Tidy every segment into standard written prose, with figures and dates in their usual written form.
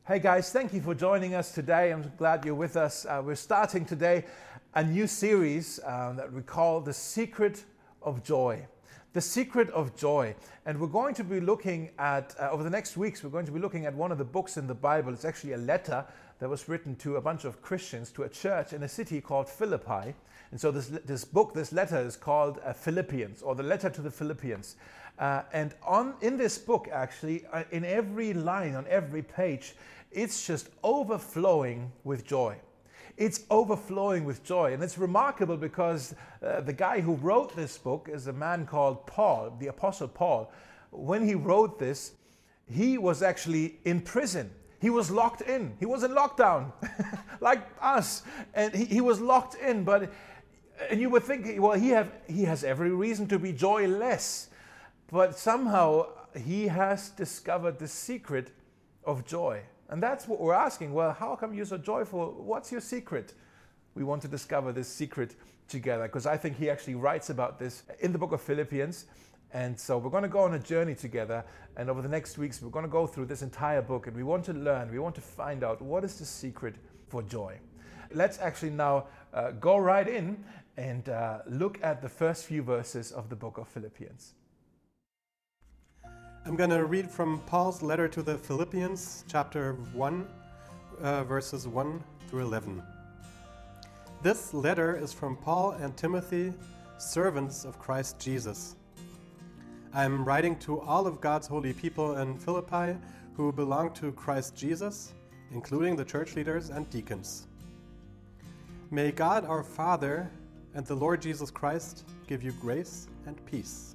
Hey guys, thank you for joining us today. I'm glad you're with us. We're starting today a new series that we call The Secret of Joy. The Secret of Joy. And we're going to be looking at, over the next weeks, we're going to be looking at one of the books in the Bible. It's actually a letter that was written to a bunch of Christians, to a church in a city called Philippi. And so this letter is called Philippians, or the letter to the Philippians. And in this book, actually, in every line, on every page, it's just overflowing with joy. It's overflowing with joy. And it's remarkable because the guy who wrote this book is a man called Paul, the Apostle Paul. When he wrote this, he was actually in prison. He was locked in. He was in lockdown, like us. And he was locked in. And you would think, well, he has every reason to be joyless. But somehow he has discovered the secret of joy. And that's what we're asking. Well, how come you're so joyful? What's your secret? We want to discover this secret together, because I think he actually writes about this in the book of Philippians. And so we're going to go on a journey together. And over the next weeks, we're going to go through this entire book. And we want to learn, we want to find out what is the secret for joy. Let's actually now go right in and look at the first few verses of the book of Philippians. I'm going to read from Paul's letter to the Philippians, chapter 1, verses 1 through 11. This letter is from Paul and Timothy, servants of Christ Jesus. I'm writing to all of God's holy people in Philippi who belong to Christ Jesus, including the church leaders and deacons. May God our Father and the Lord Jesus Christ give you grace and peace.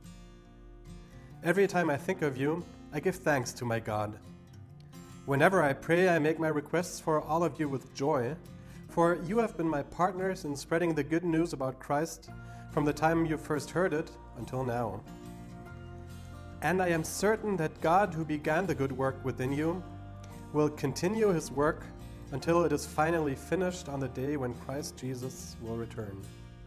Every time I think of you, I give thanks to my God. Whenever I pray, I make my requests for all of you with joy, for you have been my partners in spreading the good news about Christ from the time you first heard it until now. And I am certain that God, who began the good work within you, will continue his work until it is finally finished on the day when Christ Jesus will return.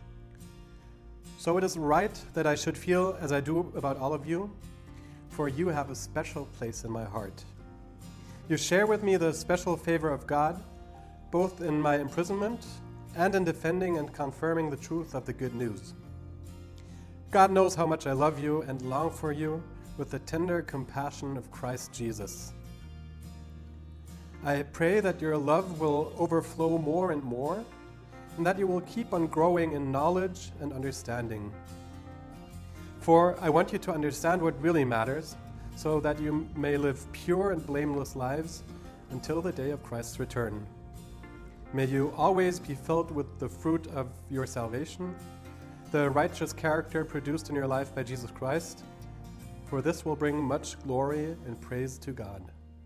So it is right that I should feel as I do about all of you, for you have a special place in my heart. You share with me the special favor of God, both in my imprisonment and in defending and confirming the truth of the good news. God knows how much I love you and long for you with the tender compassion of Christ Jesus. I pray that your love will overflow more and more, and that you will keep on growing in knowledge and understanding. For I want you to understand what really matters, so that you may live pure and blameless lives until the day of Christ's return. May you always be filled with the fruit of your salvation, the righteous character produced in your life by Jesus Christ, for this will bring much glory and praise to God.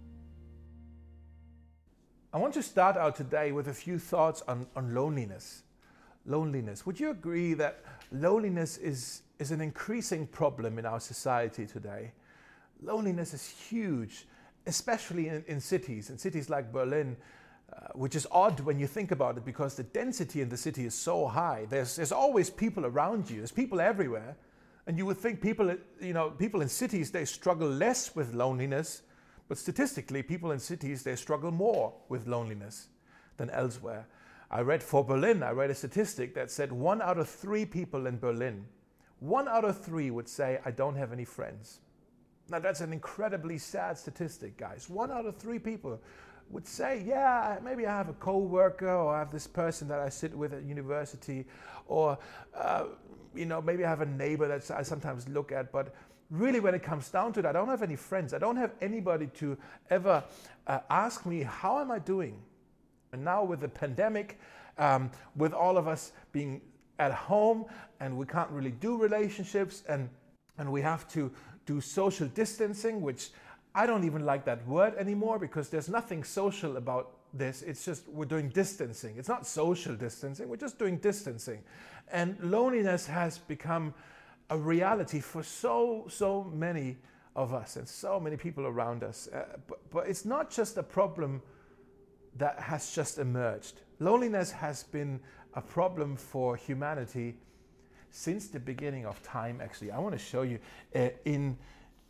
I want to start out today with a few thoughts on loneliness. Loneliness. Would you agree that loneliness is an increasing problem in our society today? Loneliness is huge, especially in cities like Berlin, which is odd when you think about it, because the density in the city is so high. There's always people around you. There's people everywhere. And you would think people in cities, they struggle less with loneliness. But statistically, people in cities, they struggle more with loneliness than elsewhere. I read a statistic that said 1 out of 3 people in Berlin, 1 out of 3 would say, I don't have any friends. Now that's an incredibly sad statistic, guys. 1 out of 3 people would say, yeah, maybe I have a co-worker, or I have this person that I sit with at university, or maybe I have a neighbor that I sometimes look at, but really, when it comes down to it, I don't have any friends. I don't have anybody to ever ask me, how am I doing? And now with the pandemic, with all of us being at home, and we can't really do relationships, and we have to do social distancing, which I don't even like that word anymore, because there's nothing social about this. It's just we're doing distancing. It's not social distancing. We're just doing distancing. And loneliness has become a reality for so many of us and so many people around us. But it's not just a problem that has just emerged. Loneliness has been a problem for humanity since the beginning of time, actually. I want to show you in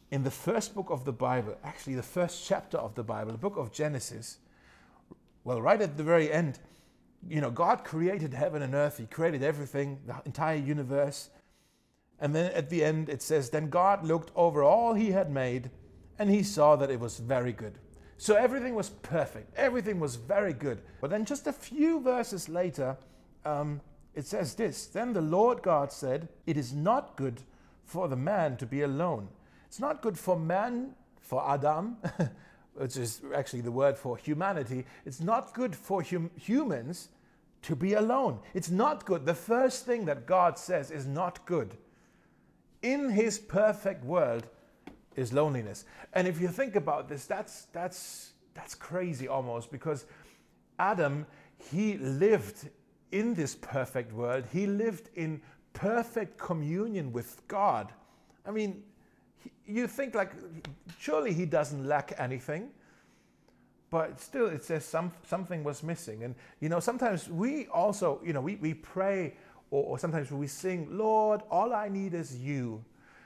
in the first book of the Bible, actually the first chapter of the Bible, the book of Genesis, well, right at the very end, God created heaven and earth. He created everything, the entire universe. And then at the end it says, then God looked over all he had made, and he saw that it was very good. So everything was perfect. Everything was very good. But then just a few verses later, it says this, then the Lord God said, it is not good for the man to be alone. It's not good for man, for Adam, which is actually the word for humanity. It's not good for humans to be alone. It's not good. The first thing that God says is not good in his perfect world is loneliness. And if you think about this, that's crazy almost, because Adam, he lived in this perfect world. He lived in perfect communion with God. I mean, you think like, surely he doesn't lack anything, but still it says something was missing. And sometimes we also, we pray, or sometimes we sing, Lord, all I need is you.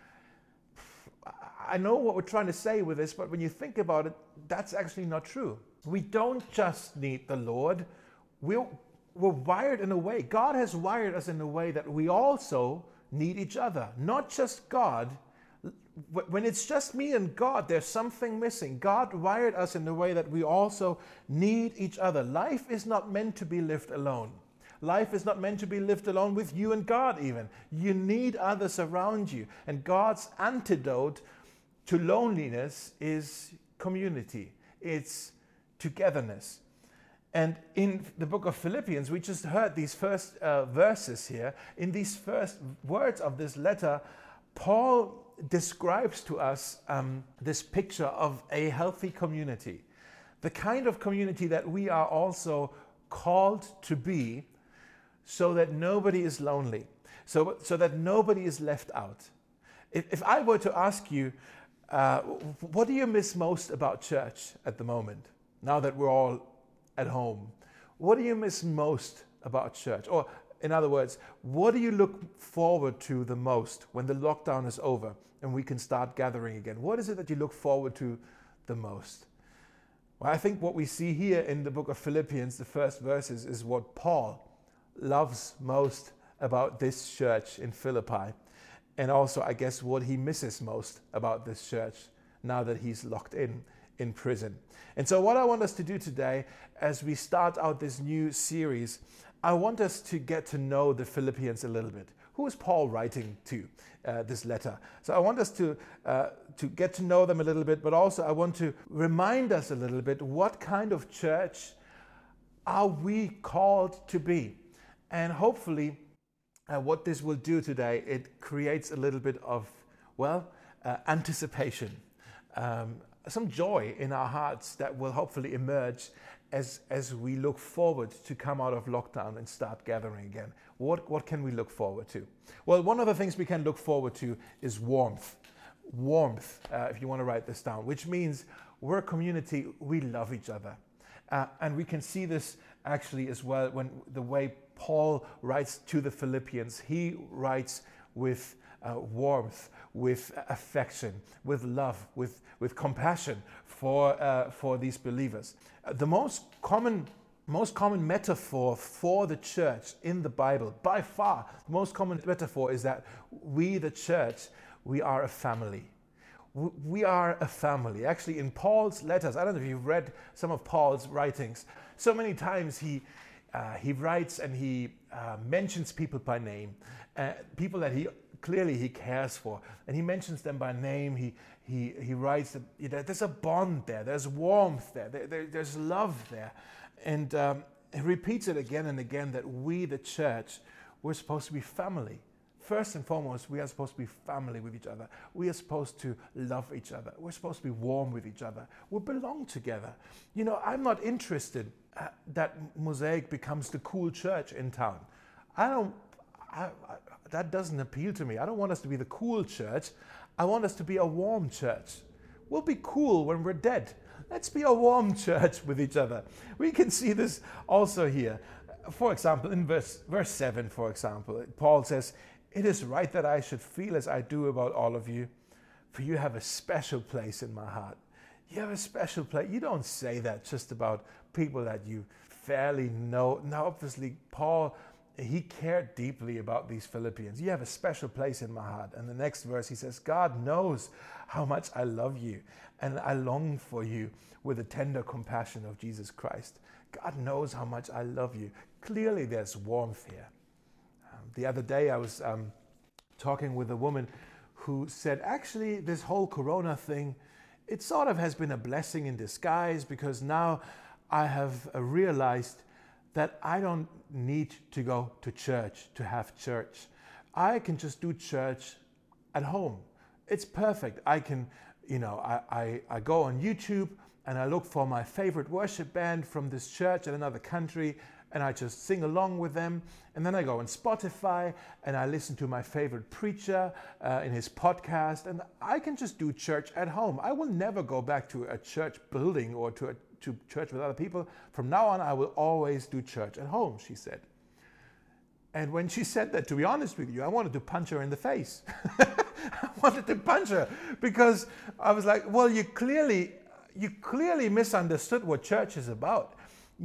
I know what we're trying to say with this, but when you think about it, that's actually not true. We don't just need the Lord. We're wired in a way. God has wired us in a way that we also need each other. Not just God. When it's just me and God, there's something missing. God wired us in a way that we also need each other. Life is not meant to be lived alone. Life is not meant to be lived alone with you and God even. You need others around you. And God's antidote to loneliness is community. It's togetherness. And in the book of Philippians, we just heard these first verses here. In these first words of this letter, Paul describes to us this picture of a healthy community. The kind of community that we are also called to be, so that nobody is lonely, so that nobody is left out. If I were to ask you, what do you miss most about church at the moment, now that we're all at home? What do you miss most about church? Or in other words, what do you look forward to the most when the lockdown is over and we can start gathering again? What is it that you look forward to the most? Well, I think what we see here in the book of Philippians, the first verses, is what Paul loves most about this church in Philippi. And also, I guess, what he misses most about this church now that he's locked in prison. And so what I want us to do today, as we start out this new series, I want us to get to know the Philippians a little bit. Who is Paul writing to, this letter? So I want us to get to know them a little bit, but also I want to remind us a little bit, what kind of church are we called to be? And hopefully what this will do today, it creates a little bit of, anticipation, some joy in our hearts that will hopefully emerge as we look forward to come out of lockdown and start gathering again. What can we look forward to? Well, one of the things we can look forward to is warmth. Warmth, if you want to write this down, which means we're a community, we love each other. And we can see this actually as well when the way Paul writes to the Philippians. He writes with warmth, with affection, with love, with compassion for these believers. The most common metaphor for the church in the Bible, by far, the most common metaphor is that we, the church, we are a family. We are a family. Actually, in Paul's letters, I don't know if you've read some of Paul's writings, so many times he writes and he mentions people by name, people that he cares for, and he mentions them by name. He writes that there's a bond there, there's warmth there, there's love there, and he repeats it again and again that we, the church, we're supposed to be family. First and foremost, we are supposed to be family with each other. We are supposed to love each other. We're supposed to be warm with each other. We belong together. I'm not interested that Mosaic becomes the cool church in town. That doesn't appeal to me. I don't want us to be the cool church. I want us to be a warm church. We'll be cool when we're dead. Let's be a warm church with each other. We can see this also here. For example, in verse 7, for example, Paul says, "It is right that I should feel as I do about all of you, for you have a special place in my heart. You have a special place. You don't say that just about people that you fairly know. Now, obviously, Paul, he cared deeply about these Philippians. You have a special place in my heart. And the next verse, he says, God knows how much I love you, and I long for you with the tender compassion of Jesus Christ. God knows how much I love you. Clearly, there's warmth here. The other day, I was talking with a woman who said, actually, this whole Corona thing, it sort of has been a blessing in disguise, because now I have realized that I don't need to go to church to have church. I can just do church at home. It's perfect. I can, I go on YouTube and I look for my favorite worship band from this church in another country, and I just sing along with them. And then I go on Spotify and I listen to my favorite preacher in his podcast, and I can just do church at home. I will never go back to a church building or to church with other people. From now on, I will always do church at home, she said. And when she said that, to be honest with you, I wanted to punch her in the face. I wanted to punch her, because I was like, well, you clearly misunderstood what church is about.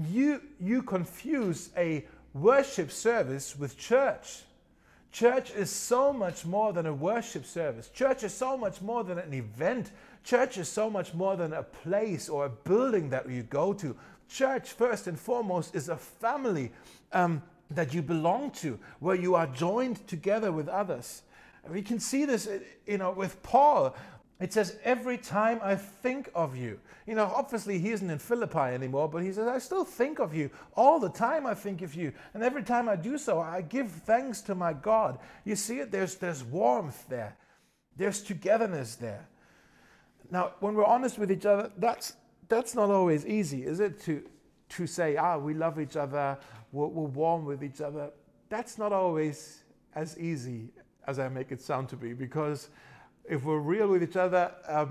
You confuse a worship service with church. Church is so much more than a worship service. Church is so much more than an event. Church is so much more than a place or a building that you go to. Church, first and foremost, is a family that you belong to, where you are joined together with others. We can see this, with Paul. It says, every time I think of you. Obviously he isn't in Philippi anymore, but he says, I still think of you. All the time I think of you. And every time I do so, I give thanks to my God. You see it? There's warmth there. There's togetherness there. Now, when we're honest with each other, that's not always easy, is it? To say, we love each other, we're warm with each other. That's not always as easy as I make it sound to be, because if we're real with each other,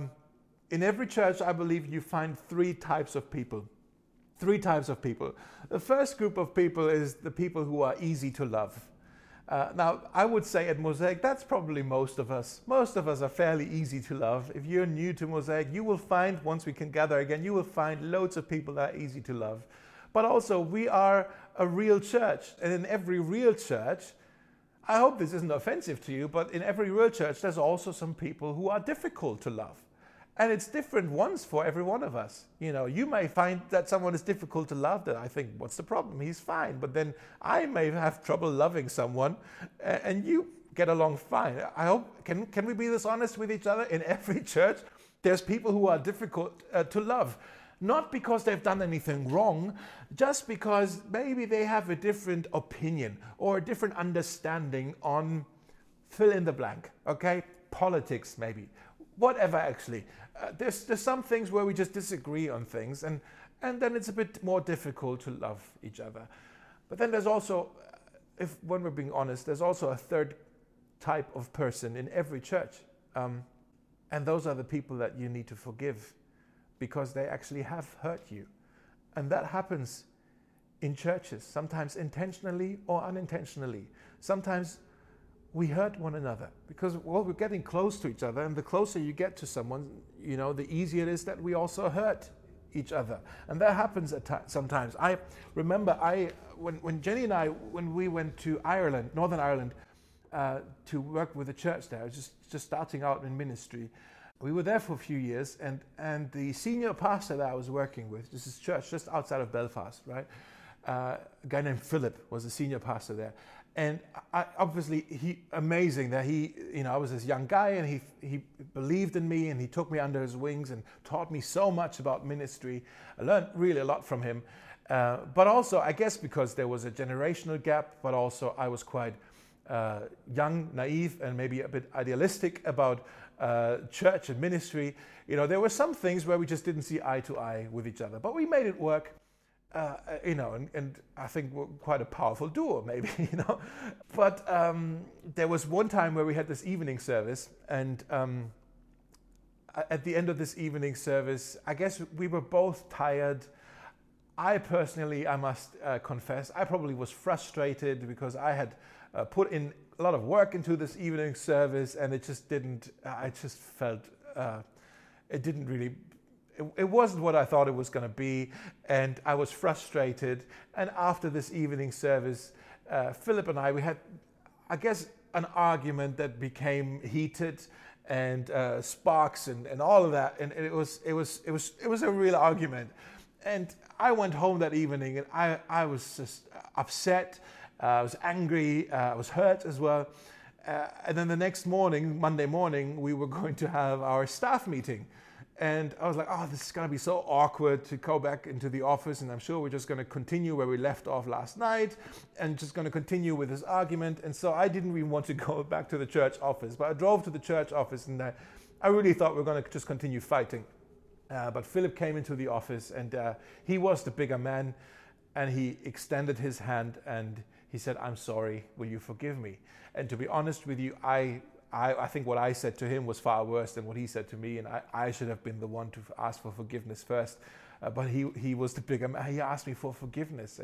in every church, I believe you find three types of people. Three types of people. The first group of people is the people who are easy to love. Now, I would say at Mosaic, that's probably most of us. Most of us are fairly easy to love. If you're new to Mosaic, you will find, once we can gather again, you will find loads of people that are easy to love. But also, we are a real church. And in every real church, I hope this isn't offensive to you, but in every real church, there's also some people who are difficult to love. And it's different ones for every one of us. You may find that someone is difficult to love, that I think, what's the problem? He's fine. But then I may have trouble loving someone, and you get along fine. I hope, can we be this honest with each other? In every church, there's people who are difficult to love. Not because they've done anything wrong, just because maybe they have a different opinion or a different understanding on fill in the blank, okay? Politics, maybe. Whatever, actually. There's some things where we just disagree on things, and then it's a bit more difficult to love each other. But then there's also, when we're being honest, there's also a third type of person in every church. And those are the people that you need to forgive, because they actually have hurt you. And that happens in churches, sometimes intentionally or unintentionally. Sometimes we hurt one another because, we're getting close to each other, and the closer you get to someone, the easier it is that we also hurt each other. And that happens sometimes. I remember when Jenny and I, when we went to Ireland, Northern Ireland, to work with the church there, just starting out in ministry. We were there for a few years, and the senior pastor that I was working with, this is church just outside of Belfast, right? A guy named Philip was the senior pastor there. And obviously, amazing that I was this young guy, and he believed in me, and he took me under his wings and taught me so much about ministry. I learned really a lot from him. But also, I guess because there was a generational gap, but also I was quite young, naive, and maybe a bit idealistic about church and ministry. There were some things where we just didn't see eye to eye with each other, but we made it work. And I think we're quite a powerful duo, maybe, But there was one time where we had this evening service, and at the end of this evening service, I guess we were both tired. I personally, I must confess, I probably was frustrated because I had put in a lot of work into this evening service, and it just didn't. I just felt it didn't really. It wasn't what I thought it was going to be, and I was frustrated. And after this evening service, Philip and we had, I guess, an argument that became heated, and sparks and all of that, and it was a real argument. And I went home that evening, and I was just upset. I was angry. I was hurt as well. And then the next morning, Monday morning, we were going to have our staff meeting. And I was like, oh, this is going to be so awkward to go back into the office, and I'm sure we're just going to continue where we left off last night and just going to continue with this argument. And so I didn't even want to go back to the church office, but I drove to the church office, and I really thought we were going to just continue fighting. But Philip came into the office, and he was the bigger man, and he extended his hand and he said, I'm sorry, will you forgive me? And to be honest with you, I think what I said to him was far worse than what he said to me, and I should have been the one to ask for forgiveness first. But he was the bigger man. He asked me for forgiveness,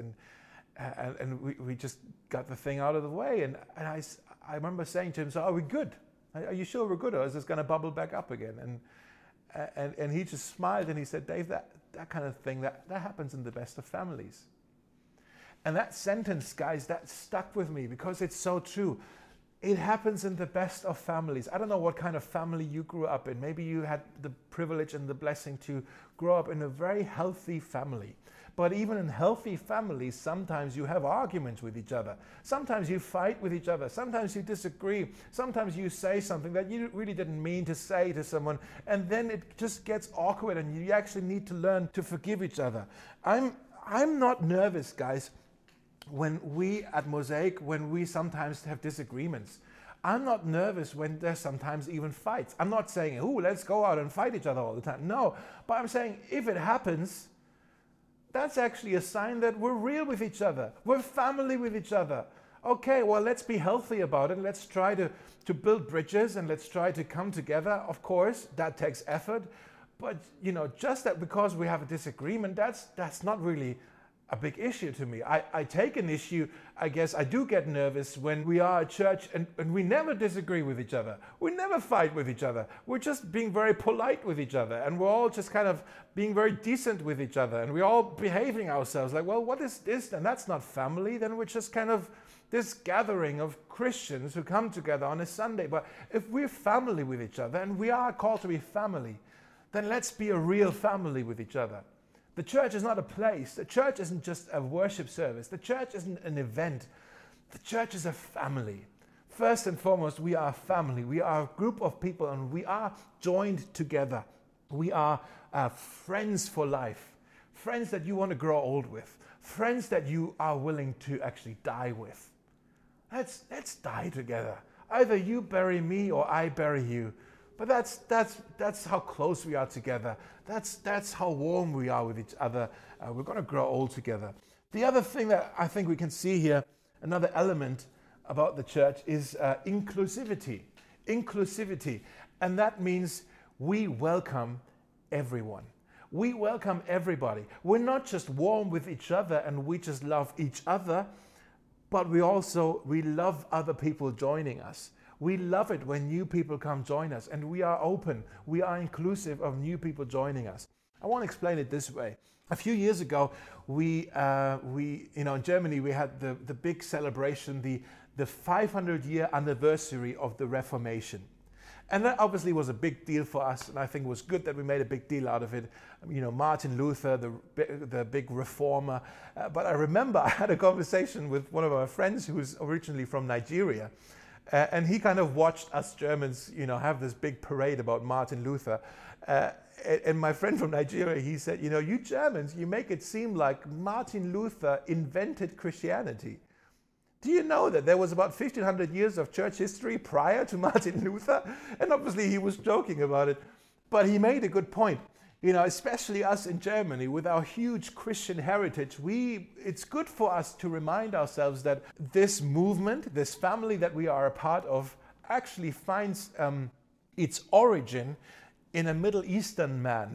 and we just got the thing out of the way. And I remember saying to him, so are we good? Are you sure we're good, or is this going to bubble back up again? And he just smiled, and he said, Dave, that kind of thing, that happens in the best of families. And that sentence, guys, that stuck with me because it's so true. It happens in the best of families. I don't know what kind of family you grew up in. Maybe you had the privilege and the blessing to grow up in a very healthy family. But even in healthy families, sometimes you have arguments with each other. Sometimes you fight with each other. Sometimes you disagree. Sometimes you say something that you really didn't mean to say to someone. And then it just gets awkward, and you actually need to learn to forgive each other. I'm not nervous, guys, when we at Mosaic, when we sometimes have disagreements. I'm not nervous when there's sometimes even fights. I'm not saying, oh, let's go out and fight each other all the time. No, but I'm saying if it happens, that's actually a sign that we're real with each other. We're family with each other. Okay, well, let's be healthy about it. Let's try to build bridges, and let's try to come together. Of course, that takes effort. But, just that because we have a disagreement, that's not really a big issue to me. I take an issue, I guess I do get nervous when we are at church and we never disagree with each other. We never fight with each other. We're just being very polite with each other, and we're all just kind of being very decent with each other, and we're all behaving ourselves like, well, what is this? And that's not family. Then we're just kind of this gathering of Christians who come together on a Sunday. But if we're family with each other, and we are called to be family, then let's be a real family with each other. The church is not a place. The church isn't just a worship service. The church isn't an event. The church is a family. First and foremost, we are a family. We are a group of people, and we are joined together. We are friends for life. Friends that you want to grow old with. Friends that you are willing to actually die with. Let's die together. Either you bury me or I bury you. But that's how close we are together. That's how warm we are with each other. We're going to grow old together. The other thing that I think we can see here, another element about the church, is inclusivity. Inclusivity. And that means we welcome everyone. We welcome everybody. We're not just warm with each other and we just love each other, but we love other people joining us. We love it when new people come join us, and we are open. We are inclusive of new people joining us. I want to explain it this way. A few years ago, we in Germany, we had the big celebration, the 500-year anniversary of the Reformation. And that obviously was a big deal for us, and I think it was good that we made a big deal out of it. Martin Luther, the big reformer. But I remember I had a conversation with one of our friends who was originally from Nigeria. And he kind of watched us Germans, have this big parade about Martin Luther. And my friend from Nigeria, he said, you Germans, you make it seem like Martin Luther invented Christianity. Do you know that there was about 1,500 years of church history prior to Martin Luther? And obviously he was joking about it, but he made a good point. Especially us in Germany with our huge Christian heritage, it's good for us to remind ourselves that this movement, this family that we are a part of, actually finds its origin in a Middle Eastern man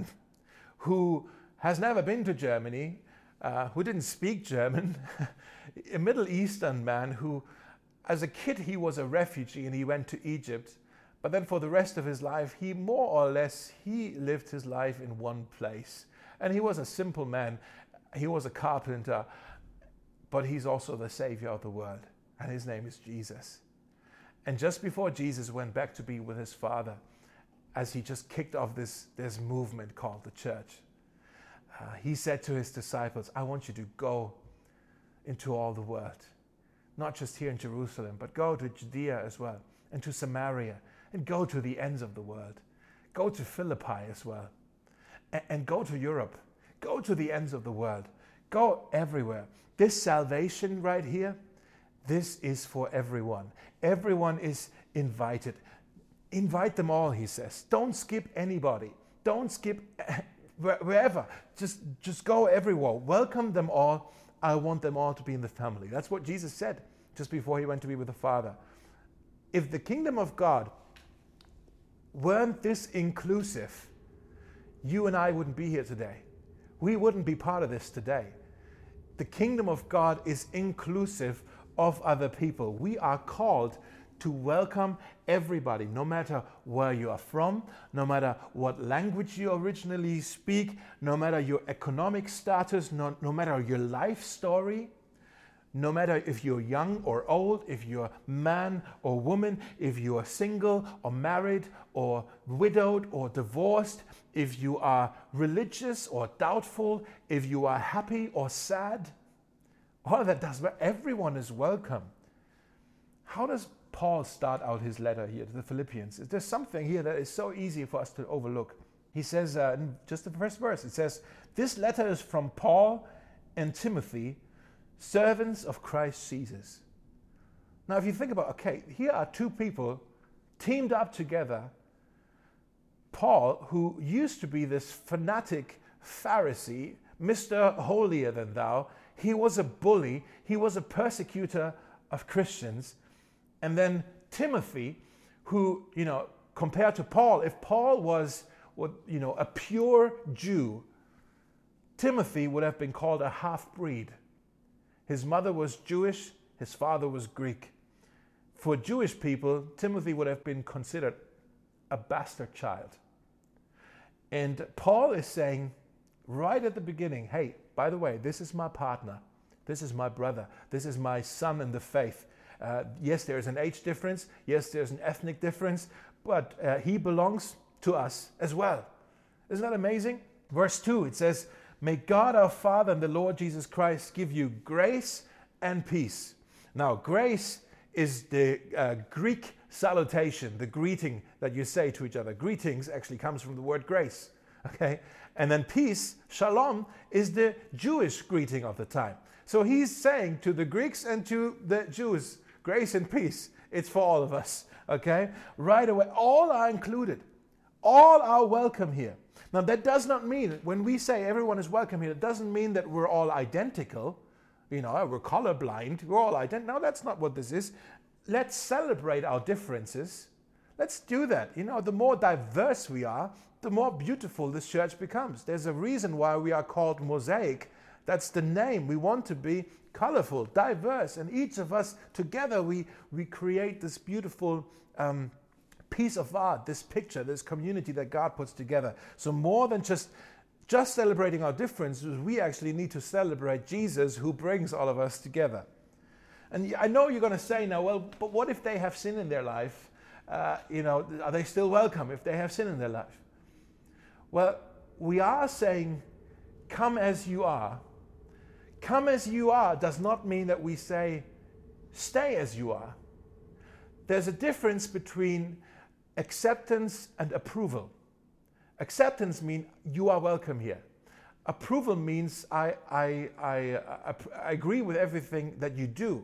who has never been to Germany, who didn't speak German, a Middle Eastern man who as a kid, he was a refugee and he went to Egypt. But then for the rest of his life, he more or less, he lived his life in one place. And he was a simple man. He was a carpenter, but he's also the Savior of the world. And his name is Jesus. And just before Jesus went back to be with his Father, as he just kicked off this movement called the church, he said to his disciples, I want you to go into all the world. Not just here in Jerusalem, but go to Judea as well, and to Samaria, and go to the ends of the world. Go to Philippi as well, and go to Europe. Go to the ends of the world. Go everywhere. This salvation right here, this is for everyone. Everyone is invited. Invite them all, he says. Don't skip anybody. Don't skip wherever. Just go everywhere. Welcome them all. I want them all to be in the family. That's what Jesus said just before he went to be with the Father. If the kingdom of God weren't this inclusive, you and I wouldn't be here today. We wouldn't be part of this today. The kingdom of God is inclusive of other people. We are called to welcome everybody, no matter where you are from, no matter what language you originally speak, no matter your economic status, no matter your life story, no matter if you're young or old, if you're man or woman, if you are single or married or widowed or divorced, if you are religious or doubtful, if you are happy or sad, all of that does matter. Everyone is welcome. How does Paul start out his letter here to the Philippians? There's something here that is so easy for us to overlook. He says, in just the first verse, it says, this letter is from Paul and Timothy, servants of Christ Jesus. Now, if you think about, okay, here are two people teamed up together. Paul, who used to be this fanatic Pharisee, Mr. Holier than thou, he was a bully, he was a persecutor of Christians. And then Timothy, who, compared to Paul, if Paul was, a pure Jew, Timothy would have been called a half-breed. His mother was Jewish, his father was Greek. For Jewish people, Timothy would have been considered a bastard child. And Paul is saying right at the beginning, hey, by the way, this is my partner, this is my brother, this is my son in the faith. Yes, there is an age difference. Yes, there's an ethnic difference, but he belongs to us as well. Isn't that amazing? Verse 2, it says, may God our Father and the Lord Jesus Christ give you grace and peace. Now, grace is the Greek salutation, the greeting that you say to each other. Greetings actually comes from the word grace. Okay? And then peace, shalom, is the Jewish greeting of the time. So he's saying to the Greeks and to the Jews, grace and peace, it's for all of us, okay? Right away, all are included. All are welcome here. Now, that does not mean, when we say everyone is welcome here, it doesn't mean that we're all identical. We're colorblind, we're all identical. No, that's not what this is. Let's celebrate our differences. Let's do that. The more diverse we are, the more beautiful this church becomes. There's a reason why we are called Mosaic. That's the name. We want to be colorful, diverse, and each of us together we create this beautiful piece of art, this picture, this community that God puts together. So more than just celebrating our differences, we actually need to celebrate Jesus, who brings all of us together. And I know you're going to say now, well, but what if they have sin in their life? Are they still welcome if they have sin in their life? Well, we are saying, come as you are. Come as you are does not mean that we say, stay as you are. There's a difference between acceptance and approval. Acceptance means you are welcome here. Approval means I agree with everything that you do.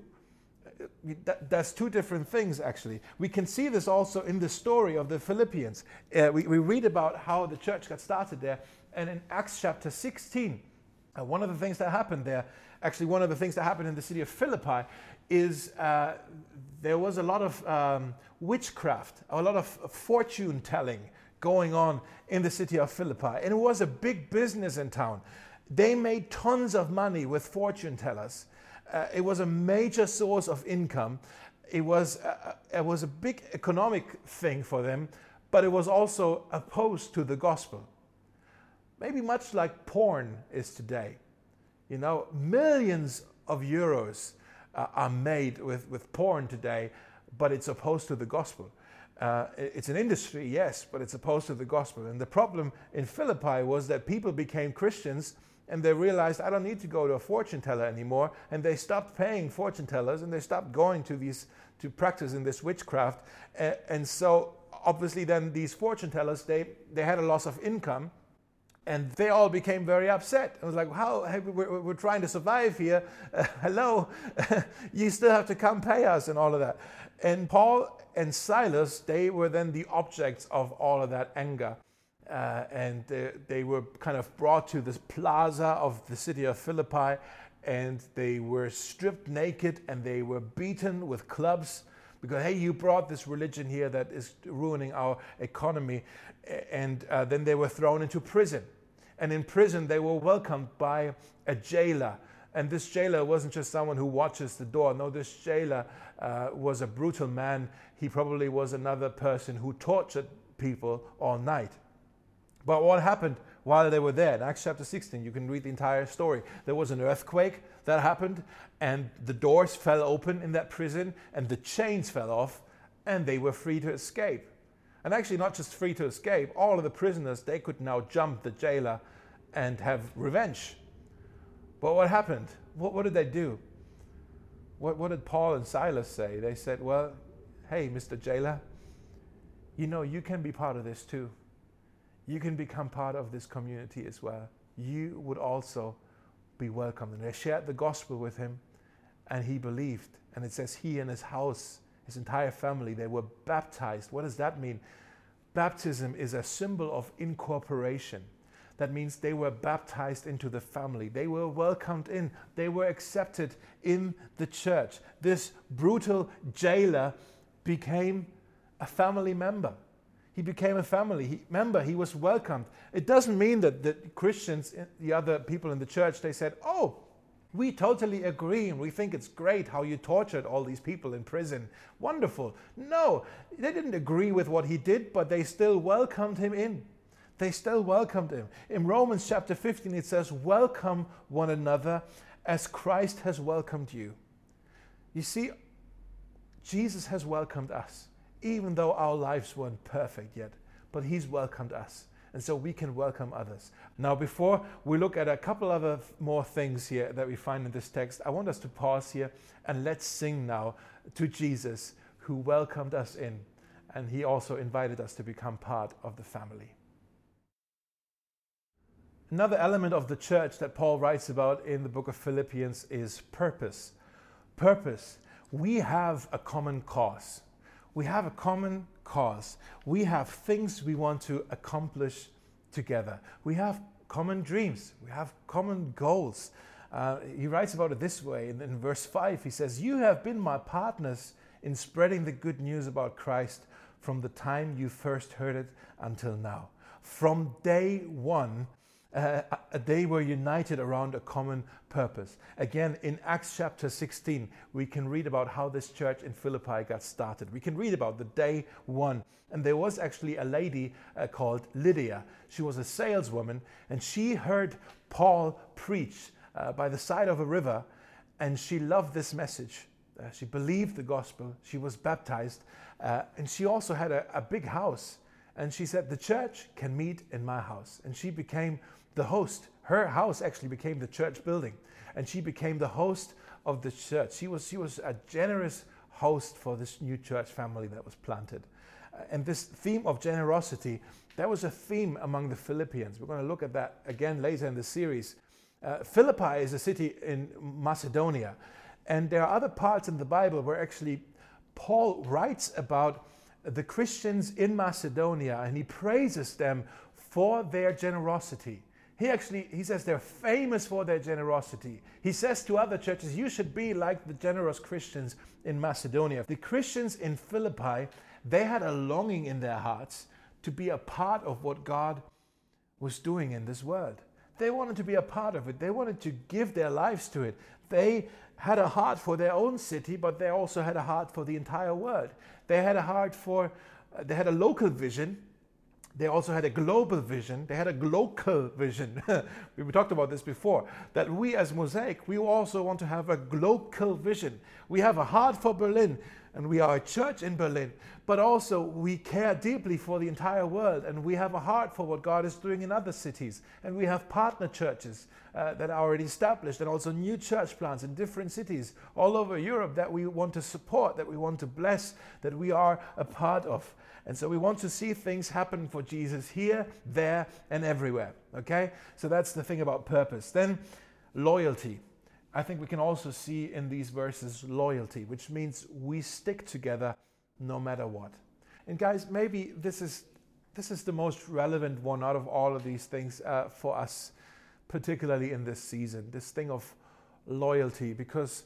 That's two different things, actually. We can see this also in the story of the Philippians. We read about how the church got started there, and in Acts chapter 16, one of the things that happened there, actually one of the things that happened in the city of Philippi is there was a lot of witchcraft, a lot of fortune telling going on in the city of Philippi. And it was a big business in town. They made tons of money with fortune tellers. It was a major source of income. It was a big economic thing for them, but it was also opposed to the gospel. Maybe much like porn is today. You know, millions of euros are made with porn today, but it's opposed to the gospel. It's an industry, yes, but it's opposed to the gospel. And the problem in Philippi was that people became Christians and they realized, I don't need to go to a fortune teller anymore. And they stopped paying fortune tellers and they stopped going to practice in this witchcraft. And so obviously then these fortune tellers, they had a loss of income. And they all became very upset. It was like, we're trying to survive here. Hello, you still have to come pay us and all of that. And Paul and Silas, they were then the objects of all of that anger. And they were kind of brought to this plaza of the city of Philippi, and they were stripped naked and they were beaten with clubs because, hey, you brought this religion here that is ruining our economy. And then they were thrown into prison. And in prison, they were welcomed by a jailer. And this jailer wasn't just someone who watches the door. No, this jailer was a brutal man. He probably was another person who tortured people all night. But what happened while they were there? In Acts chapter 16, you can read the entire story. There was an earthquake that happened, and the doors fell open in that prison, and the chains fell off, and they were free to escape. And actually not just free to escape, all of the prisoners, they could now jump the jailer and have revenge. But what happened? What did they do? What did Paul and Silas say? They said, well, hey, Mr. Jailer, you know, you can be part of this too. You can become part of this community as well. You would also be welcomed. And they shared the gospel with him, and he believed. And it says he and his house, his entire family, they were baptized. What does that mean? Baptism is a symbol of incorporation. That means they were baptized into the family. They were welcomed in. They were accepted in the church. This brutal jailer became a family member. He became a family member. He was welcomed. It doesn't mean that the Christians, the other people in the church, they said, oh, we totally agree and we think it's great how you tortured all these people in prison. Wonderful. No, they didn't agree with what he did, but they still welcomed him in. They still welcomed him. In Romans chapter 15, it says, welcome one another as Christ has welcomed you. You see, Jesus has welcomed us, even though our lives weren't perfect yet, but he's welcomed us. And so we can welcome others. Now, before we look at a couple other more things here that we find in this text, I want us to pause here and let's sing now to Jesus, who welcomed us in. And he also invited us to become part of the family. Another element of the church that Paul writes about in the book of Philippians is purpose. Purpose. We have a common cause. We have a common cause. We have things we want to accomplish together. We have common dreams. We have common goals. He writes about it this way in verse 5. He says, you have been my partners in spreading the good news about Christ from the time you first heard it until now. From day one, they were united around a common purpose. Again, in Acts chapter 16, we can read about how this church in Philippi got started. We can read about the day one. And there was actually a lady called Lydia. She was a saleswoman, and she heard Paul preach by the side of a river, and she loved this message. She believed the gospel. She was baptized, and she also had a big house. And she said, the church can meet in my house. And she became the host. Her house actually became the church building. And she became the host of the church. She was a generous host for this new church family that was planted. And this theme of generosity, that was a theme among the Philippians. We're going to look at that again later in the series. Philippi is a city in Macedonia. And there are other parts in the Bible where actually Paul writes about the Christians in Macedonia, and he praises them for their generosity. He says they're famous for their generosity. He says to other churches, you should be like the generous Christians in Macedonia. The Christians in Philippi, they had a longing in their hearts to be a part of what God was doing in this world. They wanted to be a part of it. They wanted to give their lives to it. They had a heart for their own city, but they also had a heart for the entire world. They had a heart for, they had a local vision. They also had a global vision. They had a glocal vision. We talked about this before, that we as Mosaic, we also want to have a glocal vision. We have a heart for Berlin, and we are a church in Berlin, but also we care deeply for the entire world, and we have a heart for what God is doing in other cities. And we have partner churches that are already established, and also new church plants in different cities all over Europe that we want to support, that we want to bless, that we are a part of. And so we want to see things happen for Jesus here, there, and everywhere. Okay? So that's the thing about purpose. Then loyalty. I think we can also see in these verses loyalty, which means we stick together no matter what. And guys, maybe this is the most relevant one out of all of these things for us, particularly in this season, this thing of loyalty, because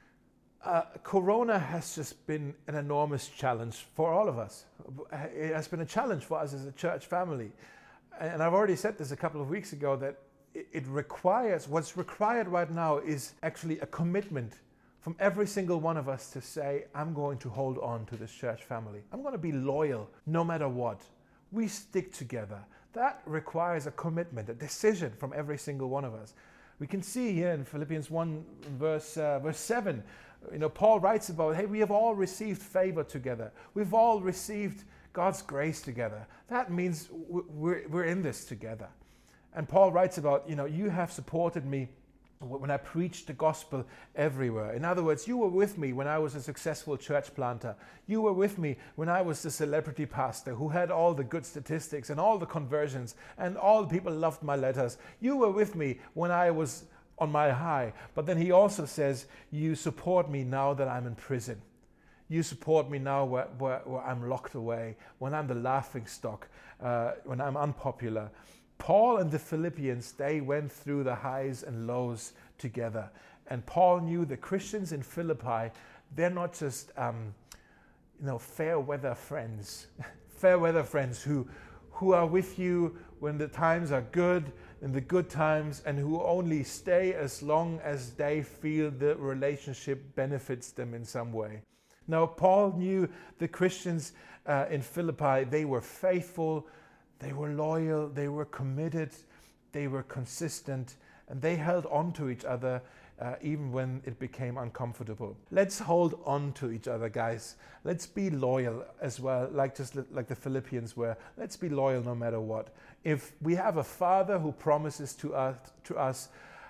Corona has just been an enormous challenge for all of us. It has been a challenge for us as a church family. And I've already said this a couple of weeks ago, that it requires, what's required right now is actually a commitment from every single one of us to say, I'm going to hold on to this church family. I'm going to be loyal no matter what. We stick together. That requires a commitment, a decision from every single one of us. We can see here in Philippians 1 verse 7, Paul writes about, hey, we have all received favor together. We've all received God's grace together. That means we're in this together. And Paul writes about, you have supported me when I preached the gospel everywhere. In other words, you were with me when I was a successful church planter. You were with me when I was the celebrity pastor who had all the good statistics and all the conversions, and all the people loved my letters. You were with me when I was on my high. But then he also says, you support me now that I'm in prison. You support me now where I'm locked away, when I'm the laughing stock, when I'm unpopular. Paul and the Philippians, they went through the highs and lows together. And Paul knew the Christians in Philippi, they're not just fair weather friends, fair weather friends who are with you when the times are good, in the good times, and who only stay as long as they feel the relationship benefits them in some way. Now, Paul knew the Christians in Philippi, they were faithful, they were loyal, they were committed, they were consistent, and they held on to each other even when it became uncomfortable. Let's hold on to each other, guys. Let's be loyal as well, like the Philippians were. Let's be loyal no matter what. If we have a Father who promises to us,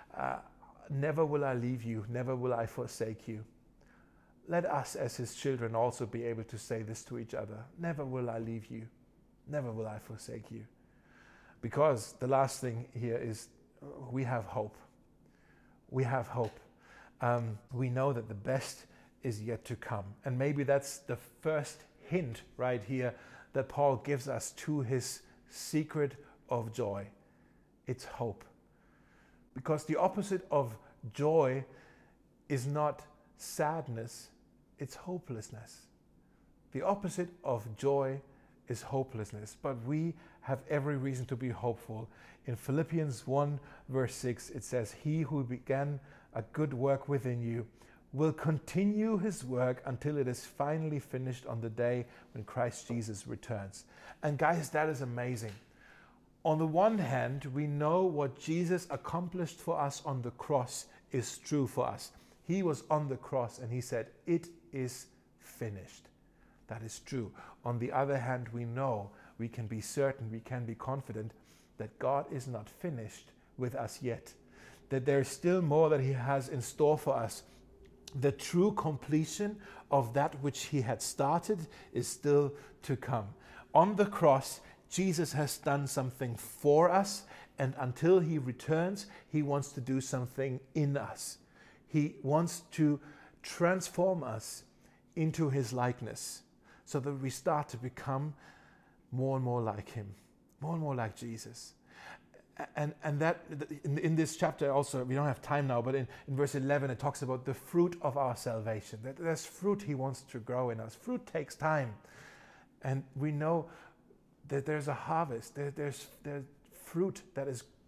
never will I leave you, never will I forsake you. Let us as his children also be able to say this to each other. Never will I leave you. Never will I forsake you. Because the last thing here is we have hope. We have hope. We know that the best is yet to come. And maybe that's the first hint right here that Paul gives us to his secret of joy. It's hope. Because the opposite of joy is not sadness, it's hopelessness. The opposite of joy is hopelessness, but we have every reason to be hopeful. In Philippians 1 verse 6, it says, he who began a good work within you will continue his work until it is finally finished on the day when Christ Jesus returns. And guys, that is amazing. On the one hand, we know what Jesus accomplished for us on the cross is true for us. He was on the cross and he said, it is finished. That is true. On the other hand, we know, we can be certain, we can be confident that God is not finished with us yet. That there is still more that he has in store for us. The true completion of that which he had started is still to come. On the cross, Jesus has done something for us, and until he returns, he wants to do something in us. He wants to transform us into his likeness, so that we start to become more and more like him, more and more like Jesus. And that in this chapter also, we don't have time now, but in verse 11 it talks about the fruit of our salvation. That there's fruit he wants to grow in us. Fruit takes time. And we know that there's a harvest. There's fruit that is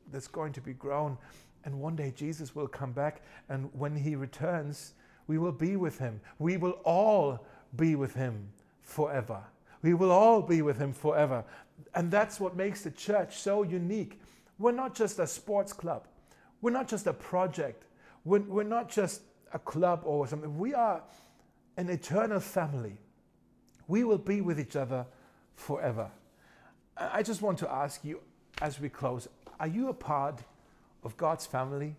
that's going to be grown. And one day Jesus will come back, and when he returns, we will be with him. We will all be with him forever. We will all be with him forever. And that's what makes the church so unique. We're not just a sports club. We're not just a project. We're not just a club or something. We are an eternal family. We will be with each other forever. I just want to ask you as we close, are you a part of God's family?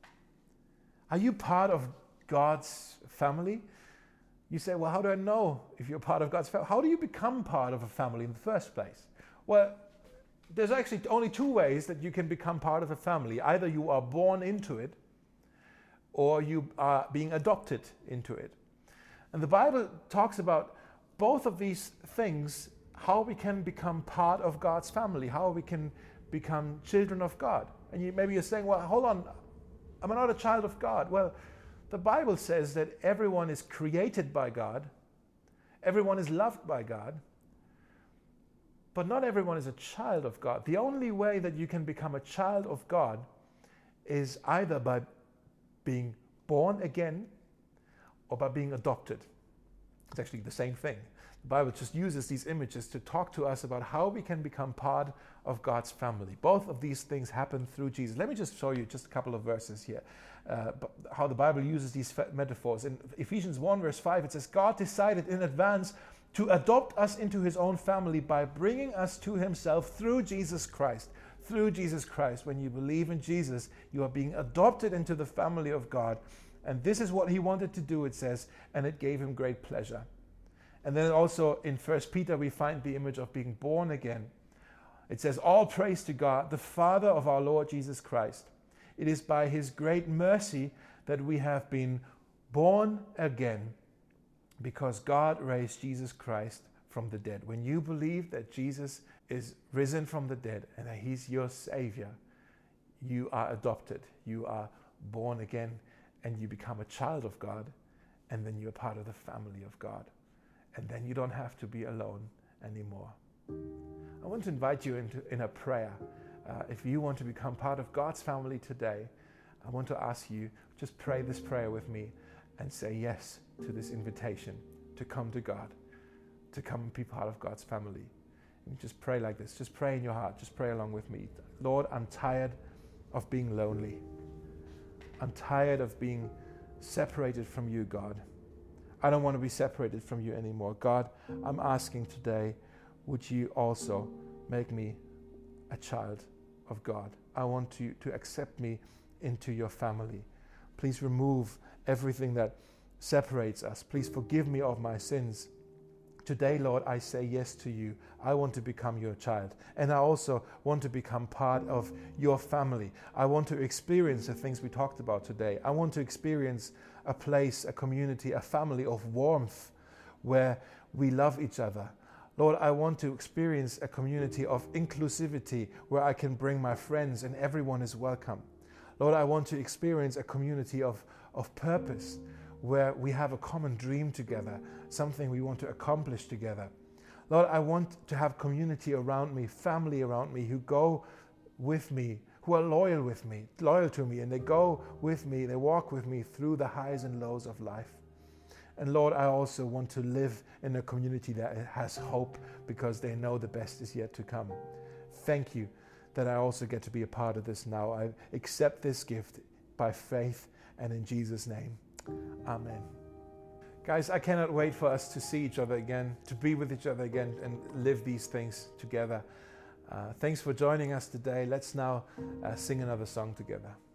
Are you part of God's family? You say, well, how do I know if you're part of God's family? How do you become part of a family in the first place? Well, there's actually only two ways that you can become part of a family. Either you are born into it, or you are being adopted into it. And the Bible talks about both of these things, how we can become part of God's family, how we can become children of God. And maybe you're saying, well, hold on, I'm not a child of God. Well, the Bible says that everyone is created by God, everyone is loved by God, but not everyone is a child of God. The only way that you can become a child of God is either by being born again or by being adopted. It's actually the same thing. The Bible just uses these images to talk to us about how we can become part of God's family. Both of these things happen through Jesus. Let me just show you just a couple of verses here, how the Bible uses these metaphors. In Ephesians 1 verse 5, it says, God decided in advance to adopt us into his own family by bringing us to himself through Jesus Christ. Through Jesus Christ. When you believe in Jesus, you are being adopted into the family of God. And this is what he wanted to do, it says, and it gave him great pleasure. And then also in 1 Peter, we find the image of being born again. It says, all praise to God, the Father of our Lord Jesus Christ. It is by his great mercy that we have been born again, because God raised Jesus Christ from the dead. When you believe that Jesus is risen from the dead and that he's your Savior, you are adopted, you are born again, and you become a child of God, and then you're part of the family of God. And then you don't have to be alone anymore. I want to invite you in a prayer. If you want to become part of God's family today, I want to ask you, just pray this prayer with me and say yes to this invitation to come to God, to come and be part of God's family. And just pray like this. Just pray in your heart. Just pray along with me. Lord, I'm tired of being lonely. I'm tired of being separated from you, God. I don't want to be separated from you anymore. God, I'm asking today, would you also make me a child of God? I want you to accept me into your family. Please remove everything that separates us. Please forgive me of my sins. Today, Lord, I say yes to you. I want to become your child. And I also want to become part of your family. I want to experience the things we talked about today. I want to experience a place, a community, a family of warmth where we love each other. Lord, I want to experience a community of inclusivity where I can bring my friends and everyone is welcome. Lord, I want to experience a community of purpose where we have a common dream together, something we want to accomplish together. Lord, I want to have community around me, family around me who go with me, who are loyal to me, and they go with me, they walk with me through the highs and lows of life. And Lord, I also want to live in a community that has hope because they know the best is yet to come. Thank you that I also get to be a part of this now. I accept this gift by faith and in Jesus' name. Amen. Guys, I cannot wait for us to see each other again, to be with each other again and live these things together. Thanks for joining us today. Let's now sing another song together.